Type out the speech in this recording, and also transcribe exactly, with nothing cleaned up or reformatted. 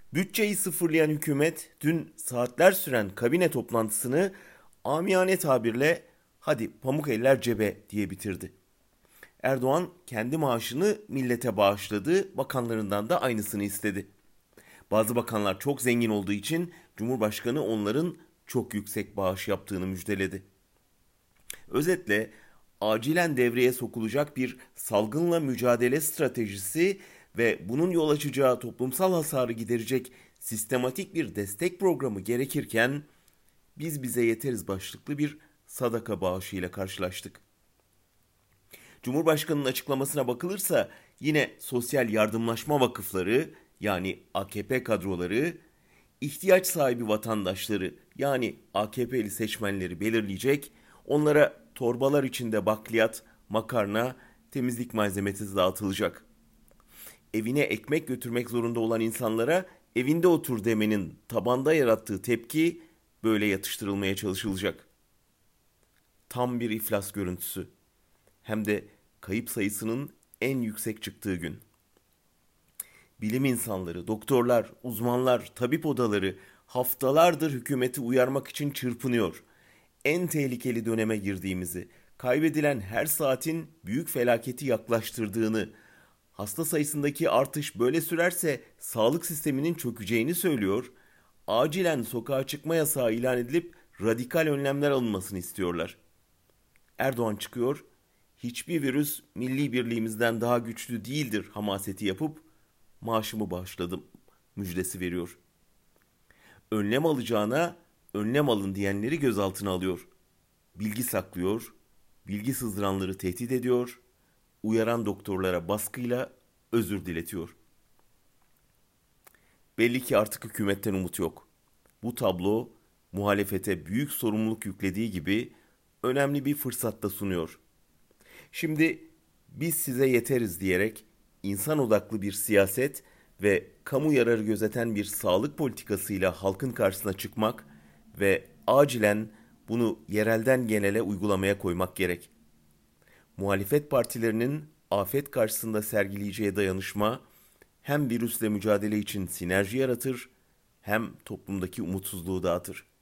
Bütçeyi sıfırlayan hükümet dün saatler süren kabine toplantısını amiyane tabirle hadi pamuk eller cebe diye bitirdi. Erdoğan kendi maaşını millete bağışladı, bakanlarından da aynısını istedi. Bazı bakanlar çok zengin olduğu için Cumhurbaşkanı onların çok yüksek bağış yaptığını müjdeledi. Özetle acilen devreye sokulacak bir salgınla mücadele stratejisi ve bunun yol açacağı toplumsal hasarı giderecek sistematik bir destek programı gerekirken biz bize yeteriz başlıklı bir sadaka bağışıyla karşılaştık. Cumhurbaşkanının açıklamasına bakılırsa yine sosyal yardımlaşma vakıfları yani A K P kadroları ihtiyaç sahibi vatandaşları yani A K P'li seçmenleri belirleyecek, onlara torbalar içinde bakliyat, makarna, temizlik malzemesi dağıtılacak. Evine ekmek götürmek zorunda olan insanlara evinde otur demenin tabanda yarattığı tepki böyle yatıştırılmaya çalışılacak. Tam bir iflas görüntüsü. Hem de kayıp sayısının en yüksek çıktığı gün. Bilim insanları, doktorlar, uzmanlar, tabip odaları haftalardır hükümeti uyarmak için çırpınıyor. En tehlikeli döneme girdiğimizi, kaybedilen her saatin büyük felaketi yaklaştırdığını, hasta sayısındaki artış böyle sürerse sağlık sisteminin çökeceğini söylüyor. Acilen sokağa çıkma yasağı ilan edilip radikal önlemler alınmasını istiyorlar. Erdoğan çıkıyor, hiçbir virüs milli birliğimizden daha güçlü değildir hamaseti yapıp maaşımı bağışladım müjdesi veriyor. Önlem alacağına önlem alın diyenleri gözaltına alıyor. Bilgi saklıyor, bilgi sızdıranları tehdit ediyor, uyaran doktorlara baskıyla özür diletiyor. Belli ki artık hükümetten umut yok. Bu tablo muhalefete büyük sorumluluk yüklediği gibi önemli bir fırsat da sunuyor. Şimdi biz size yeteriz diyerek insan odaklı bir siyaset ve kamu yararı gözeten bir sağlık politikasıyla halkın karşısına çıkmak ve acilen bunu yerelden genele uygulamaya koymak gerek. Muhalefet partilerinin afet karşısında sergileyeceği dayanışma hem virüsle mücadele için sinerji yaratır hem toplumdaki umutsuzluğu dağıtır.